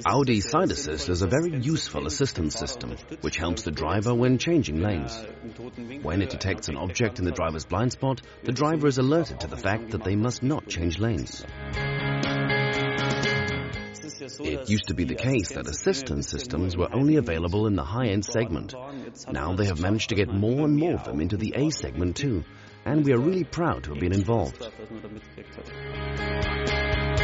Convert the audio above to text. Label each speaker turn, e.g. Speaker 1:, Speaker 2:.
Speaker 1: Audi Side Assist is a very useful assistance system, which helps the driver when changing lanes. When it detects an object in the driver's blind spot, the driver is alerted to the fact that they must not change lanes. It used to be the case that assistance systems were only available in the high-end segment. Now they have managed to get more and more of them into the A segment too, and we are really proud to have been involved.